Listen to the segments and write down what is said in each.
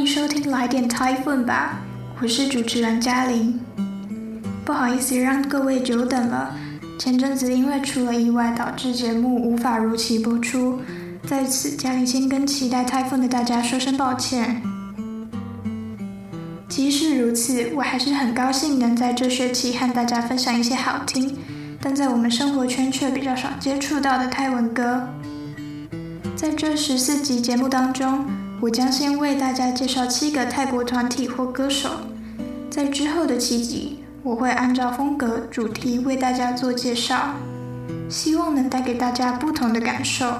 迎收聽來點 Typhoon 吧，我是主持人嘉玲。不好意思讓各位久等了，前陣子因為出了意外，導致節目無法如期播出，在此嘉玲先跟期待 Typhoon 的大家說聲抱歉。即使如此，我還是很高興能在這學期和大家分享一些好聽，但在我們生活圈卻比較少接觸到的泰文歌。在這14集節目當中，我將先為大家介紹7個泰國團體或歌手，在之後的7集，我會按照風格、主題為大家做介紹，希望能帶給大家不同的感受。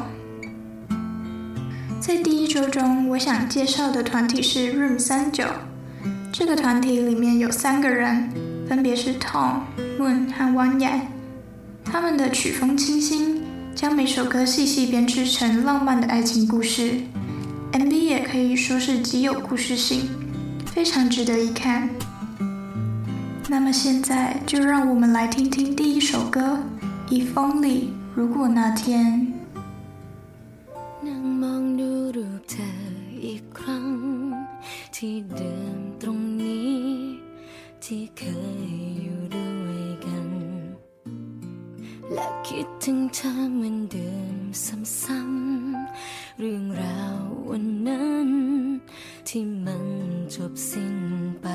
在第1周中，我想介紹的團體是 Room 39。這個團體裡面有3個人，分別是 Tom、Moon 和 Wanya。他們的曲風清新，將每首歌細細編織成浪漫的愛情故事。MV 也可以說是極有故事性，非常值得一看。那麼現在就讓我們來聽聽第1首歌 If Only 如果那天。 นั่งมองดูรูปเธออีกครั้งที่เดิมตรงนี้ที่เคยอยู่ด้วยกันและคิดถึงเธอเหมือนเดิมซ้ำๆเรื่องราววันนั้นที่มันจบสิ้นไป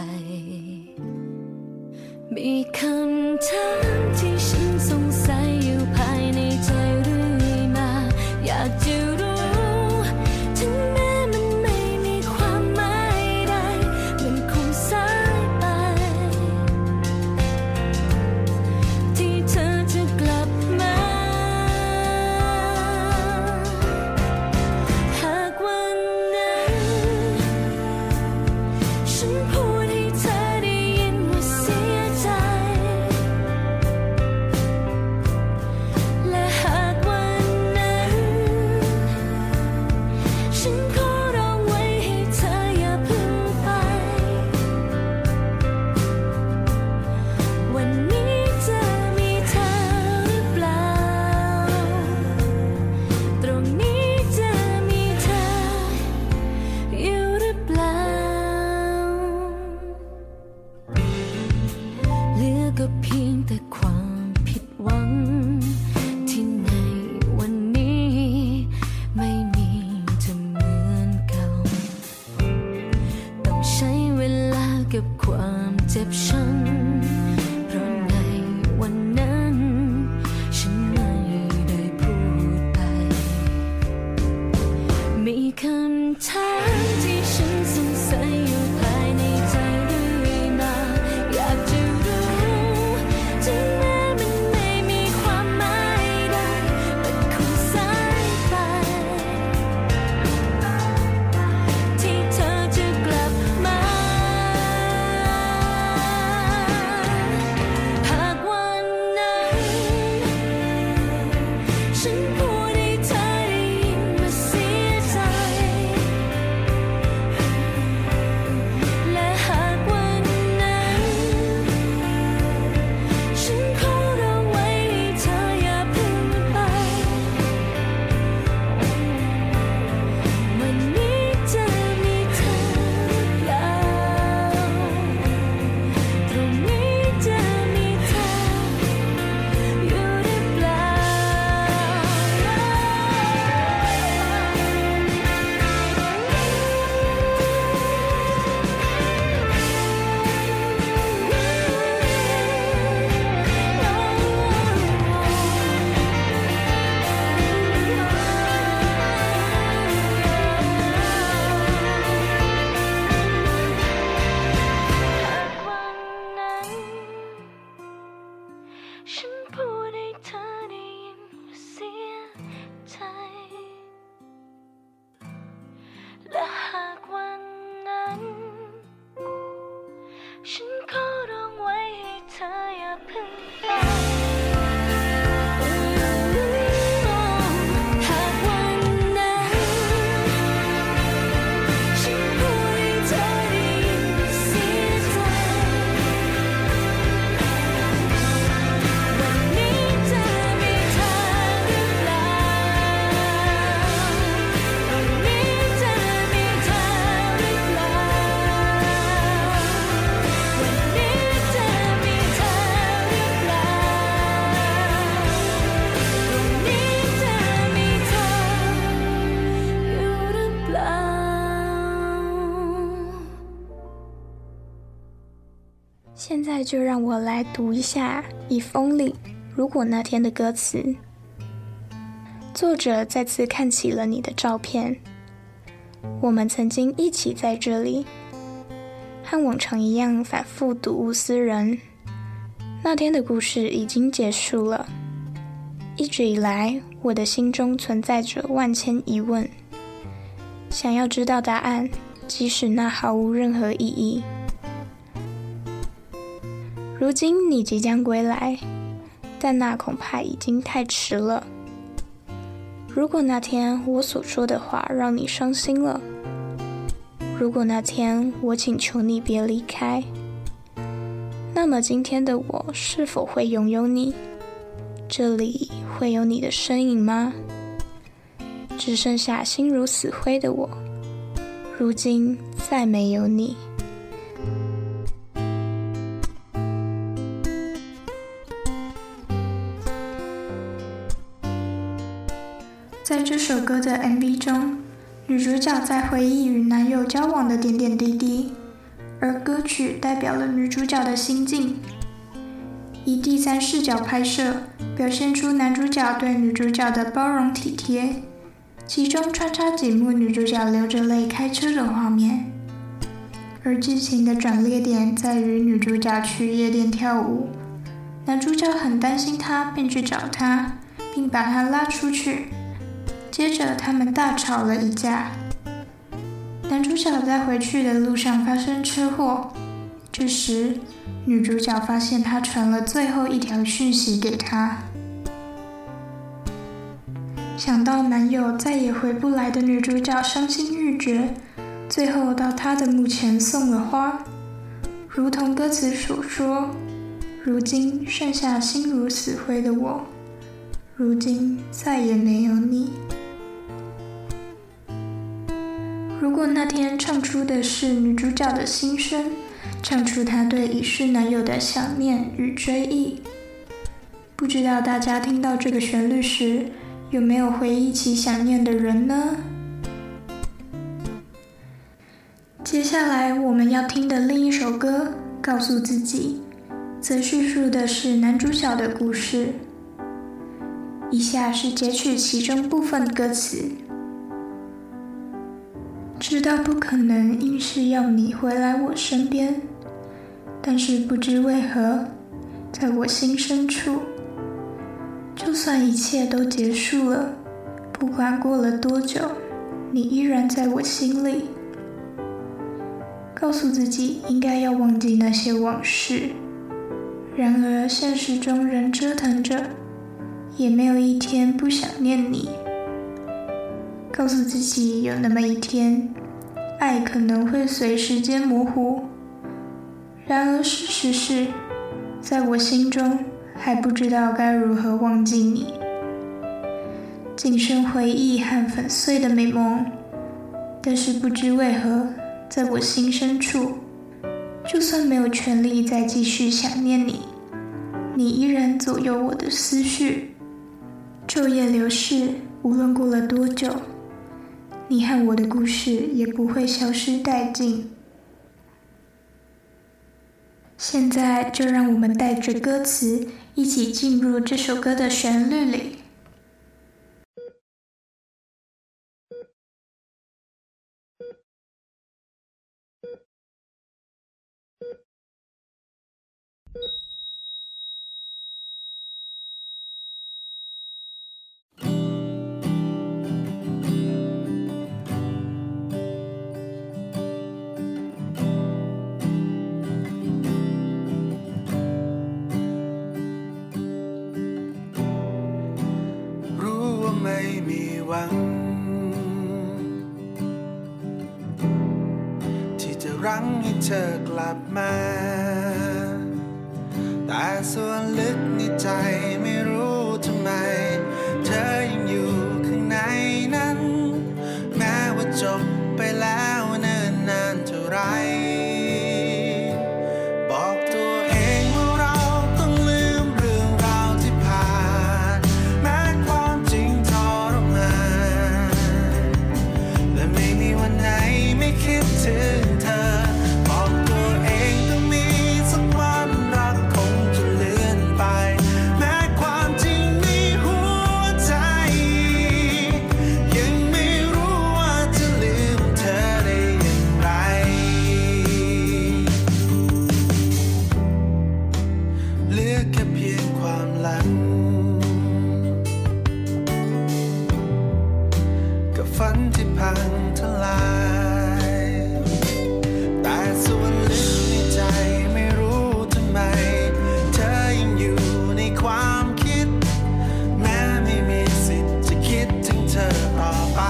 มีคำถามที่ฉันสงสัยอยู่ภายในใจเรื่อยมาอยากจะรู้ถึงแม้มันไม่มีความหมายใดมันคงสายไปที่เธอจะกลับมาหากวันนั้นฉันพูดให้เธอได้ยินว่าเสียใจและหากวันนั้นฉันขอร้องไว้ให้เธออย่าเพิ่งไปวันนี้จะมีเธอหรือเปล่าตรงนี้จะมีเธออยู่หรือเปล่าเหลือก็เพียงแต่ความผิดหวังที่ในวันนี้ไม่มีจะเหมือนเก่าต้องใช้เวลากับความเจ็บช้ำเพราะในวันนั้นฉันไม่ได้พูดไปมีคำถามที่ฉันสงสัยอยู่ภายในใจเรื่อยมาอยากจะรู้在就讓我來讀一下《If Only》如果那天的歌詞。作者再次看起了你的照片，我們曾經一起在這裡，和往常一樣反覆睹物思人。那天的故事已經結束了，一直以來我的心中存在着萬千疑問，想要知道答案，即使那毫無任何意義。如今你即將歸來，但那恐怕已經太遲了。如果那天我所說的話讓你傷心了，如果那天我請求你別離開，那麼今天的我是否會擁有你？這裡會有你的身影嗎？只剩下心如死灰的我，如今再沒有你。 在這首歌的 MV 中，女主角在回憶與男友交往的點點滴滴，而歌曲代表了女主角的心境。以第三視角拍攝，表現出男主角對女主角的包容體貼，其中穿插幾幕女主角流着淚開車的畫面。而劇情的轉捩點在於女主角去夜店跳舞，男主角很擔心她，便去找她，並把她拉出去。接着他們大吵了一架，男主角在回去的路上發生車禍，這時女主角發現他傳了最後一條訊息給她。想到男友再也回不來的女主角傷心欲絕，最後到他的墓前送了花，如同歌詞所說，如今剩下心如死灰的我，如今再也沒有你。如果那天唱出的是女主角的心聲，唱出她對已逝男友的想念與追憶，不知道大家聽到這個旋律時，有沒有回憶起想念的人呢？接下來我們要聽的另一首歌《告訴自己》，則敘述的是男主角的故事。以下是截取其中部分歌詞。知道不可能硬是要你回來我身邊，但是不知為何，在我心深處，就算一切都結束了，不管過了多久，你依然在我心裡。告訴自己應該要忘記那些往事，然而現實中人折騰着，也沒有一天不想念你。告訴自己有那麼一天，愛可能會隨時間模糊，然而事實是，在我心中還不知道該如何忘記你。僅剩回憶和粉碎的美夢，但是不知為何，在我心深處，就算沒有權利再繼續想念你，你依然左右我的思緒。晝夜流逝，無論過了多久，你和我的故事也不會消失殆盡。現在就讓我們帶着歌詞一起進入這首歌的旋律裡。 ที่จะรั้งให้เธอกลับมาแต่ส่วนลึกในใจไม่รู้ทำไมเธอยังอยู่ข้างในนั้นแม้ว่าจบไปแล้วเนิ่นนานเท่าไรบอกตัวเองว่าเราต้องลืมเรื่องราวที่ผ่านแม้ความจริงทรมานและไม่มีวันไหนไม่คิดถึงเธอบอกตัวเองต้องมีสักวันเราเหลือแค่เพียงความหลังกับฝันที่พังทลายแต่ส่วนลึกในใจไม่รู้ทำไมเธอยังอยู่ในความคิดแม้ไม่มีสิทธิ์จะคิดถึงเธอต่อไป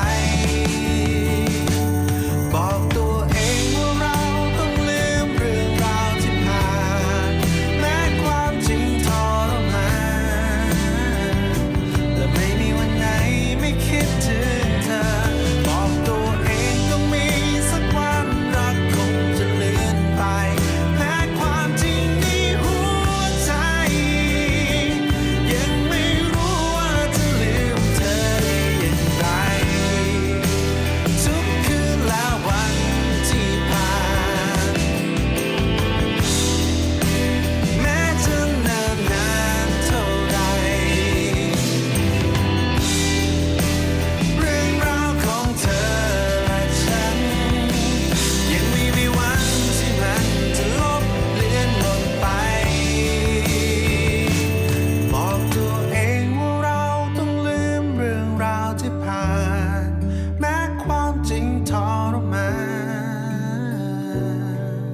บอกตัวเองว่าเราต้องลืมเรื่องราวที่ผ่านแม้ความจริงทรมานและไม่มีวันไหนไม่คิดถึงเธอบอกตัวเองต้องมีสักวันรักคงจะเลือนไปแม้ความจริงในหัวใจยังไม่รู้ว่าจะลืมเธอได้อย่างไรทุกคืนและวันที่ผ่านแม้จะนานนานเท่าไรเรื่องราวของเธอและฉันยังไม่มีวันที่มันจะลบเลือนหมดไปบอกตัวเองว่าเราต้องลืมเรื่องราวที่ผ่านแม้ความจริงทรมาน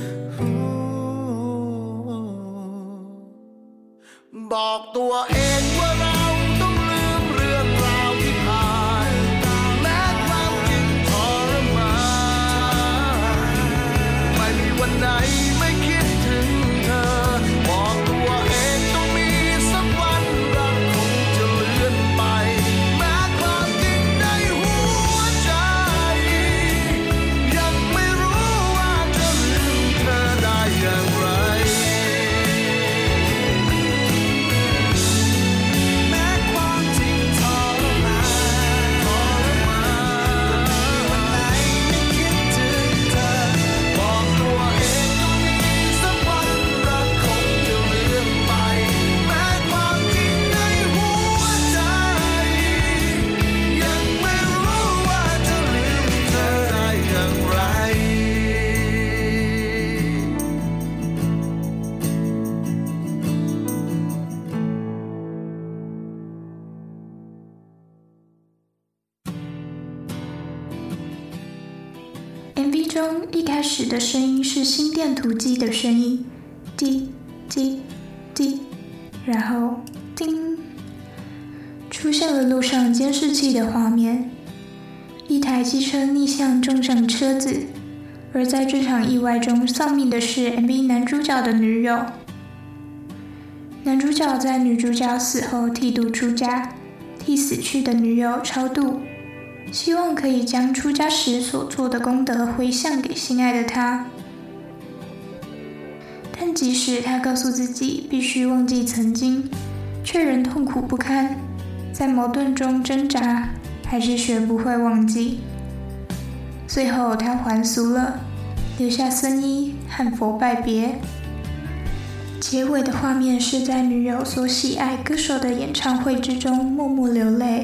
บอกตัวเองว่าเราต้องลืมเรื่องราวที่ผ่านแม้ความจริงทรมานไม่มีวันไหนไม่คิดถึงเธอบอกตัวเองต้องมีสักวันรักคงจะเลือนไปแม้ความจริงในหัวใจยังไม่รู้ว่าจะลืมเธอได้อย่างไรแม้ความจริงทรมานวันไหนไม่คิดถึงเธอบอกตัวเองต้องมีสักวันรักคงจะเลือนไปแม้ความจริงในหัวใจยังไม่รู้ว่าจะลืมเธอได้อย่างไร MV 中一開始的聲音是心電圖機的聲音，滴滴滴，然後叮，出現了路上監視器的畫面，一台機車逆向撞上車子，而在這場意外中喪命的是 MV 男主角的女友。男主角在女主角死後剃度出家，替死去的女友超度，希望可以將出家時所做的功德回向給心愛的他。但即使他告訴自己必須忘記曾經，卻仍痛苦不堪，在矛盾中掙扎，還是學不會忘記。最後他還俗了，留下僧衣和佛拜別。結尾的畫面是在女友所喜愛歌手的演唱會之中默默流淚。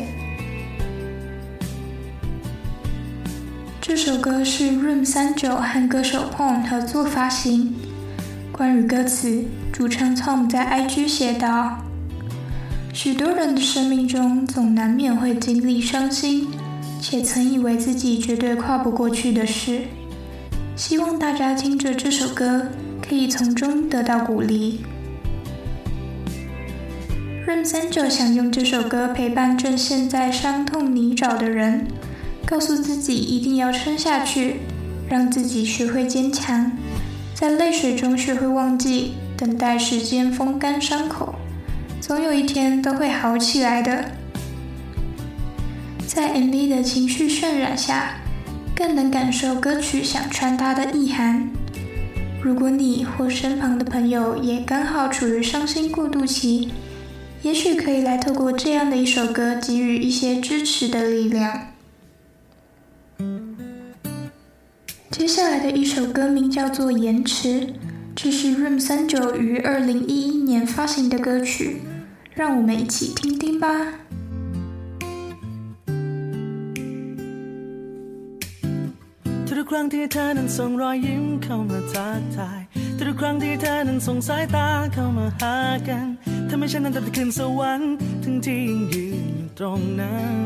這首歌是 Room 39和歌手 Pon 合作發行。關於歌詞，主唱 Tom 在 IG 寫道：許多人的生命中總難免會經歷傷心，且曾以為自己絕對跨不過去的事。希望大家聽着這首歌，可以從中得到鼓勵。Room 39想用這首歌陪伴正陷在傷痛泥沼的人，告訴自己一定要撐下去，讓自己學會堅強，在淚水中學會忘記，等待時間風乾傷口，總有一天都會好起來的。在 MV 的情緒渲染下，更能感受歌曲想傳達的意涵。如果你或身旁的朋友也剛好處於傷心過渡期，也許可以來透過這樣的一首歌給予一些支持的力量。接下來的一首歌名叫做《延遲》，這是 Room 39於2011年發行的歌曲，讓我們一起聽聽吧。 ทุกครั้งที่เธอนั้นส่งรอยยิ้มเข้ามาทักทายทุกครั้งที่เธอนั้นส่งสายตาเข้ามาหากันทำให้ฉันนั้นตัดขึ้นสวรรค์ทั้งที่ยังยืนอยู่ตรงนั้น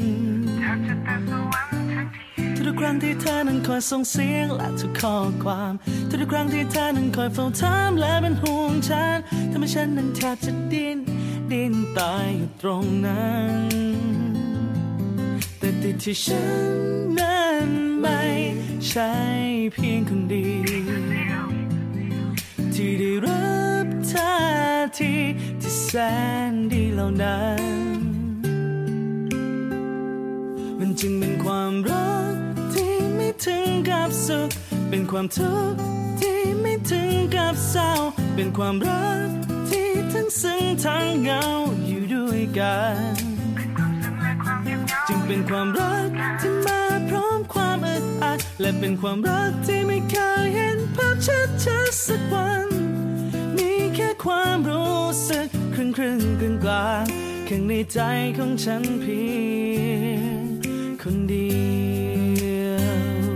ทุกครั้งที่เธอนั้นคอยส่งเสียงและทุกข้อความทุกครั้งที่เธอนั้นคอยเฝ้าถามและเป็นห่วงฉันทำให้ฉันนั้นแทบจะดิ้นตายอยู่ตรงนั้นแต่ติดที่ฉันนั้นไม่ใช่เพียงคนเดียวที่ได้รับท่าทีที่แสนดีเหล่านั้นมันจึงเป็นความรักที่ไม่ถึงกับสุขเป็นความทุกข์ที่ไม่ถึงกับเศร้าเป็นความรักที่ทั้งซึ้งทั้งเหงาอยู่ด้วยกันจึงเป็นความรักที่มาพร้อมความอึดอัดและเป็นความรักที่ไม่เคยเห็นภาพชัดๆสักวันมีแค่ความรู้สึกครึ่งกลางข้างในใจของฉันเพียงคนเดียว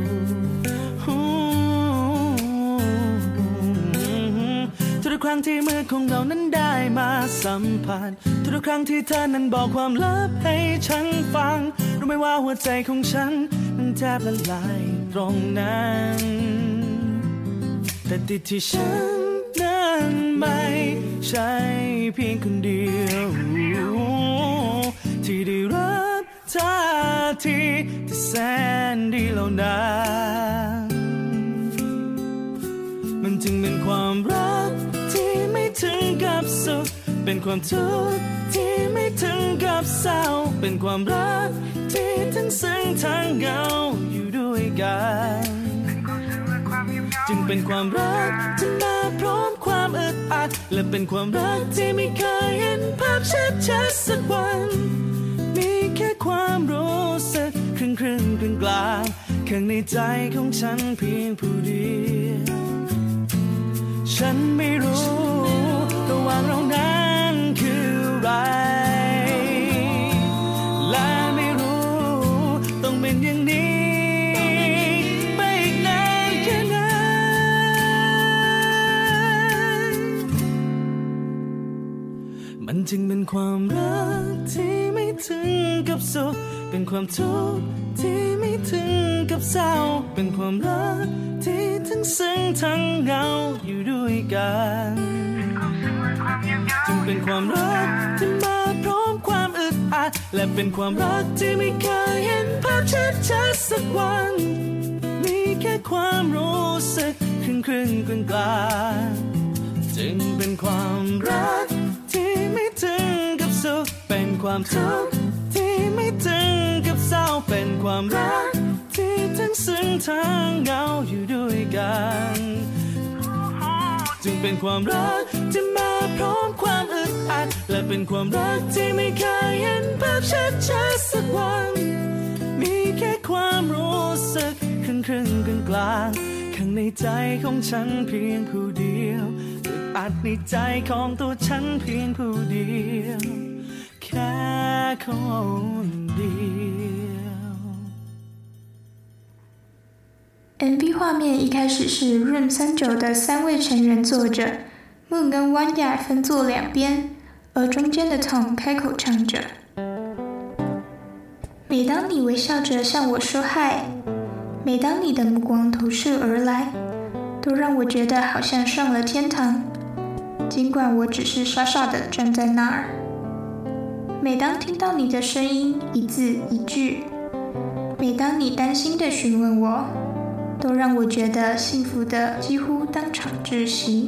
ทุกครั้งที่มือของเรานั้นได้มาสัมผัสทุกครั้งที่เธอนั้นบอกความลับให้ฉันฟังรู้ไหมว่าหัวใจของฉันมันแทบละลายตรงนั้นแต่ติดที่ฉันนั้นไม่ใช่เพียงคนเดียวที่ได้รับท่าทีที่แสนดีเหล่านั้นมันจึงเป็นความรักที่ไม่ถึงกับสุขเป็นความทุกข์ที่ไม่ถึงกับเศร้าเป็นความรักที่ทั้งซึ้งทั้งเหงาอยู่ด้วยกันจึงเป็นความรักที่มาพร้อมความอึดอัดและเป็นความรักที่ไม่เคยเห็นภาพชัดๆสักวันมีแค่ความรู้สึกครึ่งกลางข้างในใจของฉันเพียงผู้เดียวฉันไม่รู้ระหว่างเรานั้นคืออะไรและไม่รู้ต้องเป็นอย่างนี้ไปอีกนานแค่ไหนมันจึงเป็นความรักที่ไม่ถึงกับสุขเป็นความทุกข์ที่ไม่ถึงกับเศร้าเป็นความรักที่ทั้งซึ้งทั้งเหงาอยู่ด้วยกันจึงเป็นความรักที่มาพร้อมความอึดอัดและเป็นความรักที่ไม่เคยเห็นภาพชัดๆสักวันมีแค่ความรู้สึกครึ่งกลางจึงเป็นความรักที่ไม่ถึงกับสุขเป็นความทุกข์ที่ไม่ถึงกับเศร้าเป็นความรักที่ทั้งซึ้งทั้งเหงาอยู่ด้วยกันจึงเป็นความรักที่มาพร้อมความอึดอัดและเป็นความรักที่ไม่เคยเห็นภาพชัดๆสักวันมีแค่ความรู้สึกครึ่งกลางข้างในใจของฉันเพียงผู้เดียวอึดอัดในใจของตัวฉันเพียงผู้เดียวแค่คนเดียว MV 畫面一開始是 Room 39的3位成員坐着 Moon 跟 Wanya 分坐兩邊，而中間的 Tom 開口唱着。每當你微笑着向我說嗨，每當你的目光投射而來，都讓我覺得好像上了天堂，儘管我只是傻傻的站在那兒。每當聽到你的聲音一字一句，每當你擔心的詢問我，都讓我覺得幸福的幾乎當場窒息。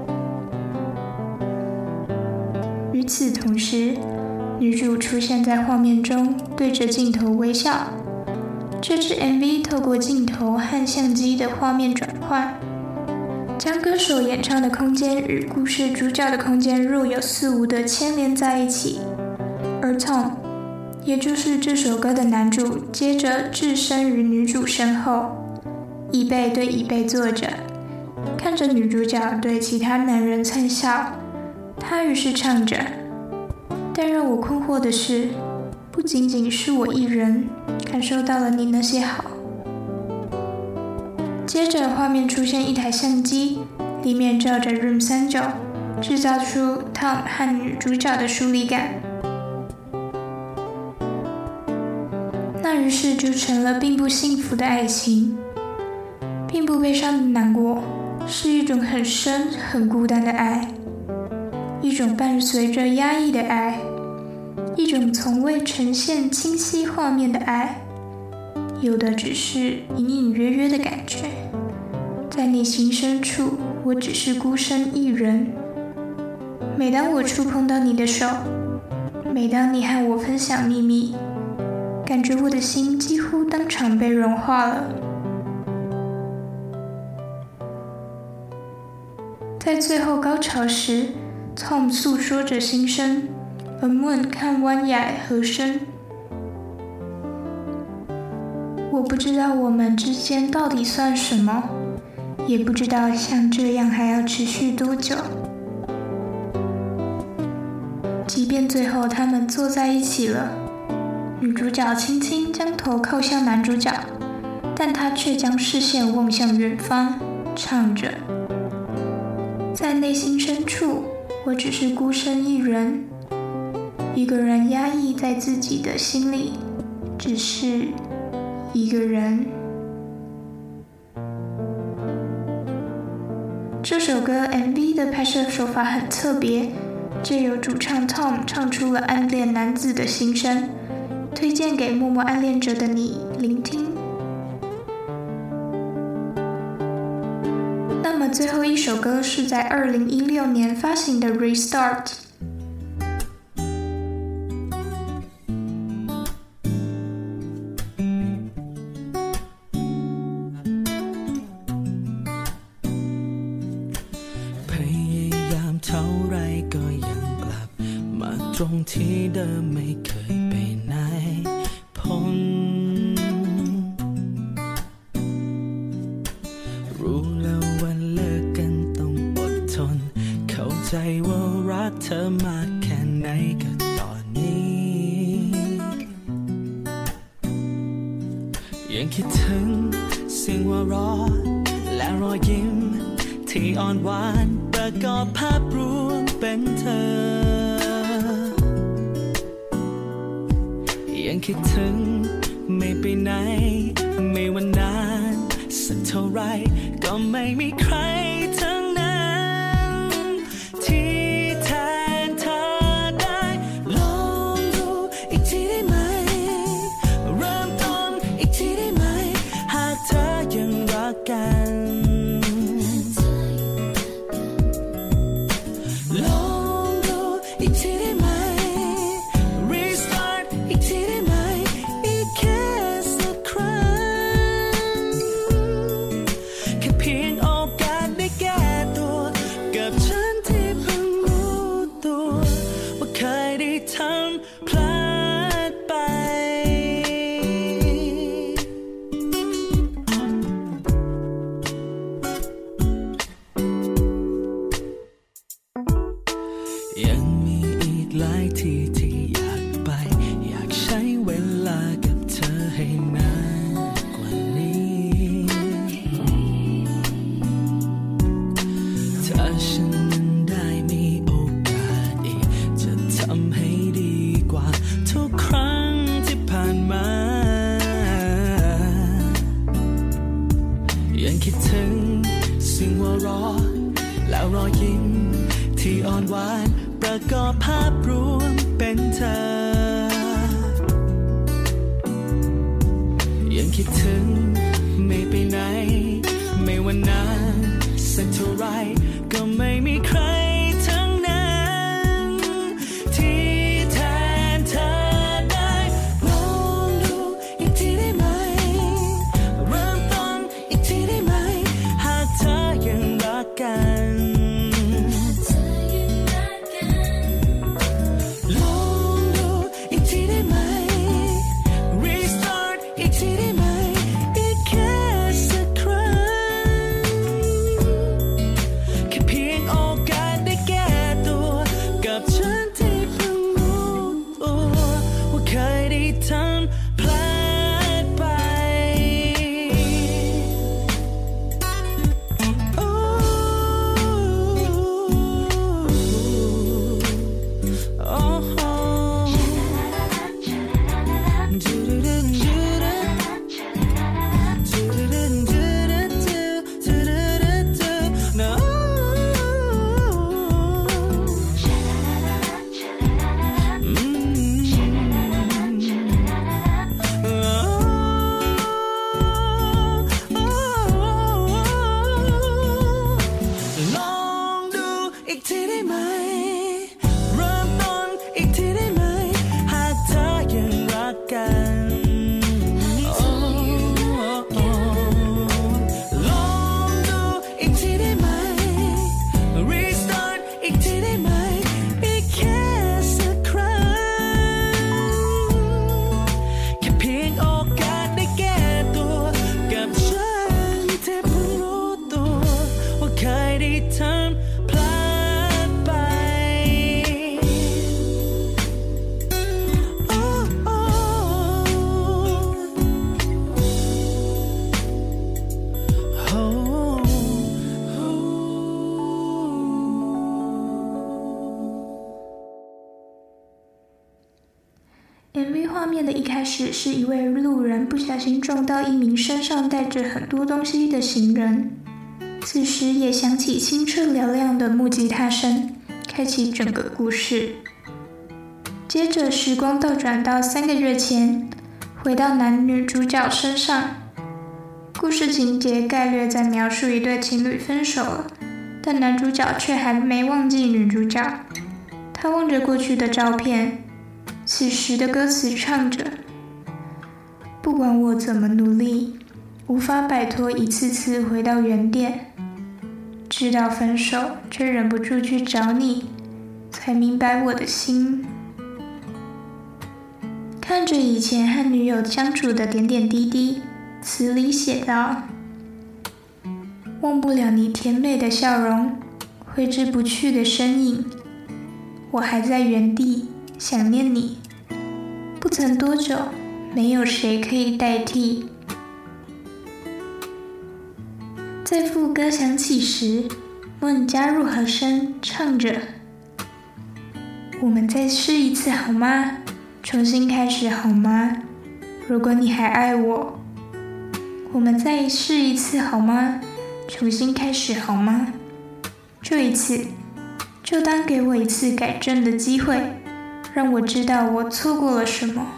與此同時，女主出現在畫面中，對着鏡頭微笑。這支 MV 透過鏡頭和相機的畫面轉換，將歌手演唱的空間與故事主角的空間若有似無的牽連在一起。而 Tom， 也就是這首歌的男主，接着置身於女主身後，椅背對椅背坐着，看着女主角對其他男人燦笑，他於是唱着。但讓我困惑的是，不僅僅是我一人感受到了你那些好。接着畫面出現一台相機， 裡面照着 Room 39，製造出 Tom 和女主角的疏離感。那於是就成了並不幸福的愛情，並不悲傷的難過，是一種很深很孤單的愛，一種伴隨着壓抑的愛，一種從未呈現清晰畫面的愛，有的只是隱隱約約的感覺。在內心深處，我只是孤身一人。每當我觸碰到你的手，每當你和我分享秘密，感覺我的心幾乎當場被融化了。在最後高潮時， Tom 訴說着心聲，而 Moon 看灣雅和聲。我不知道我們之間到底算什麼，也不知道像這樣還要持續多久。即便最後他們坐在一起了，女主角輕輕將頭靠向男主角，但她卻將視線望向遠方，唱着：在內心深處，我只是孤身一人，一個人壓抑在自己的心裡，只是一個人。這首歌 MV 的拍攝手法很特別，藉由主唱 Tom 唱出了暗戀男子的心聲，推薦給默默暗戀着的你聆聽。那麼最後一首歌是在2016年發行的 Restart。 ตรงที่เดิมไม่เคยไปไหนพ้นรู้แล้วว่าเลิกกันต้องอดทนเข้าใจว่ารักเธอมากแค่ไหนก็ตอนนี้ยังคิดถึงเสียงหัวเราะและรอยยิ้มที่อ่อนหวานประกอบภาพรวมเป็นเธอยังคิดถึงไม่ไปไหนไม่ว่านานสักเท่าไรก็ไม่มีใครทั้งนั้นที่แทนเธอได้ลองดูอีกทีได้ไหมเริ่มต้นอีกทีได้ไหมหากเธอยังรักกันลองดูอีกทีได้ไหมยังมีอีกหลายที่ที่อยากไปอยากใช้เวลากับเธอให้นานกว่านี้ถ้าฉันนั้นได้มีโอกาสอีกจะทำให้ดีกว่าทุกครั้งที่ผ่านมายังคิดถึงเสียงหัวเราะแล้วรอยยิ้มที่อ่อนหวานประกอบภาพรวมเป็นเธอยังคิดถึงไม่ไปไหนไม่ว่านานสักเท่าไรก็ไม่มีใครทั้งนั้นที่แทนเธอได้ลองดูอีกทีได้ไหมเริ่มต้นอีกทีได้ไหมหากเธอยังรักกันโอกไหมเริ่มต้นอีกทีได้ไหมหากเธอยังรักกันลองดูอีกทีได้ไหม Restart อีกทีได้ไหมอีกแค่สักครั้งแค่เพียงโอกาสได้แก้ตัวกับฉันที่เพิ่งรู้ตัวว่าเคยได้ทำพลาดไปโอ้โอ้โอ้ MV 畫面的一開始是一位路人不小心撞到一名身上帶着很多東西的行人，此時也響起清澈嘹亮的木吉他聲，開啟整個故事。接着時光倒轉到3個月前，回到男女主角身上，故事情節概略在描述一對情侶分手了，但男主角卻還沒忘記女主角，他望着過去的照片。此時的歌詞唱着：不管我怎麼努力，無法擺脫一次次回到原點，知道分手卻忍不住去找你，才明白我的心。看着以前和女友相處的點點滴滴，詞裡寫道：忘不了你甜美的笑容，揮之不去的身影，我還在原地想念你，不曾多久，沒有誰可以代替。在副歌響起時，Moon加入和聲，唱着：我們再試一次好嗎？重新開始好嗎？如果你還愛我，我們再試一次好嗎？重新開始好嗎？這一次，就當給我一次改正的機會。讓我知道我錯過了什麼。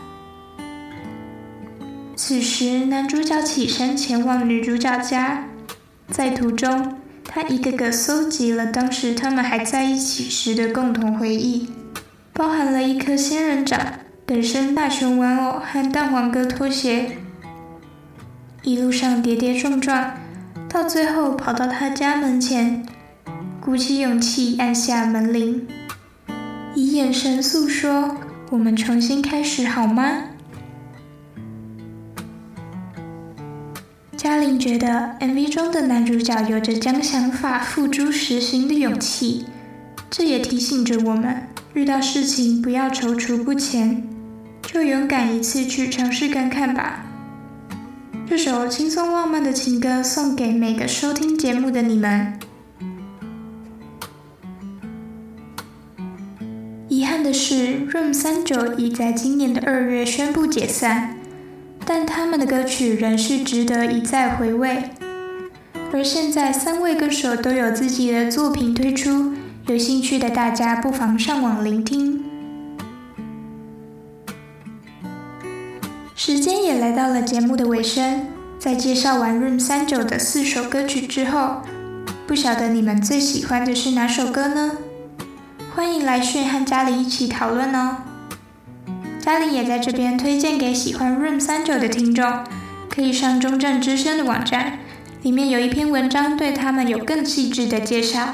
此時，男主角起身前往女主角家，在途中，他一個個蒐集了當時他們還在一起時的共同回憶，包含了一顆仙人掌、等身大熊玩偶和蛋黃哥拖鞋。一路上跌跌撞撞，到最後跑到他家門前，鼓起勇氣按下門鈴。以眼神訴說，我們重新開始好嗎？嘉玲覺得 MV 中的男主角有着將想法付諸實行的勇氣，這也提醒着我們，遇到事情不要躊躇不前，就勇敢一次去嘗試看看吧。這首輕鬆浪漫的情歌送給每個收聽節目的你們。遺憾的是 Room 39已在今年的2月宣布解散，但他們的歌曲仍是值得一再回味。而現在3位歌手都有自己的作品推出，有興趣的大家不妨上網聆聽。時間也來到了節目的尾聲，在介紹完 Room 39的4首歌曲之後，不曉得你們最喜歡的是哪首歌呢？歡迎來訊和嘉玲一起討論哦。嘉玲也在這邊推薦給喜歡 Room 39的聽眾，可以上中正之聲的網站，裡面有一篇文章對他們有更細緻的介紹。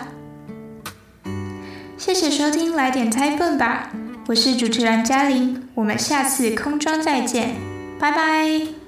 謝謝收聽，來點猜笨吧，我是主持人嘉玲，我們下次空中再見，拜拜。